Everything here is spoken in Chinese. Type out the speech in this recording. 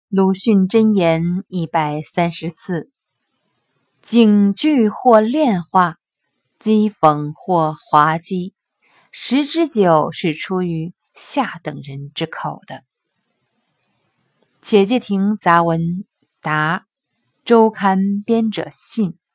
鲁迅箴言134：警句或炼化，讥讽或滑稽，十之九是出于下等人之口的。且介亭杂文答周刊编者信。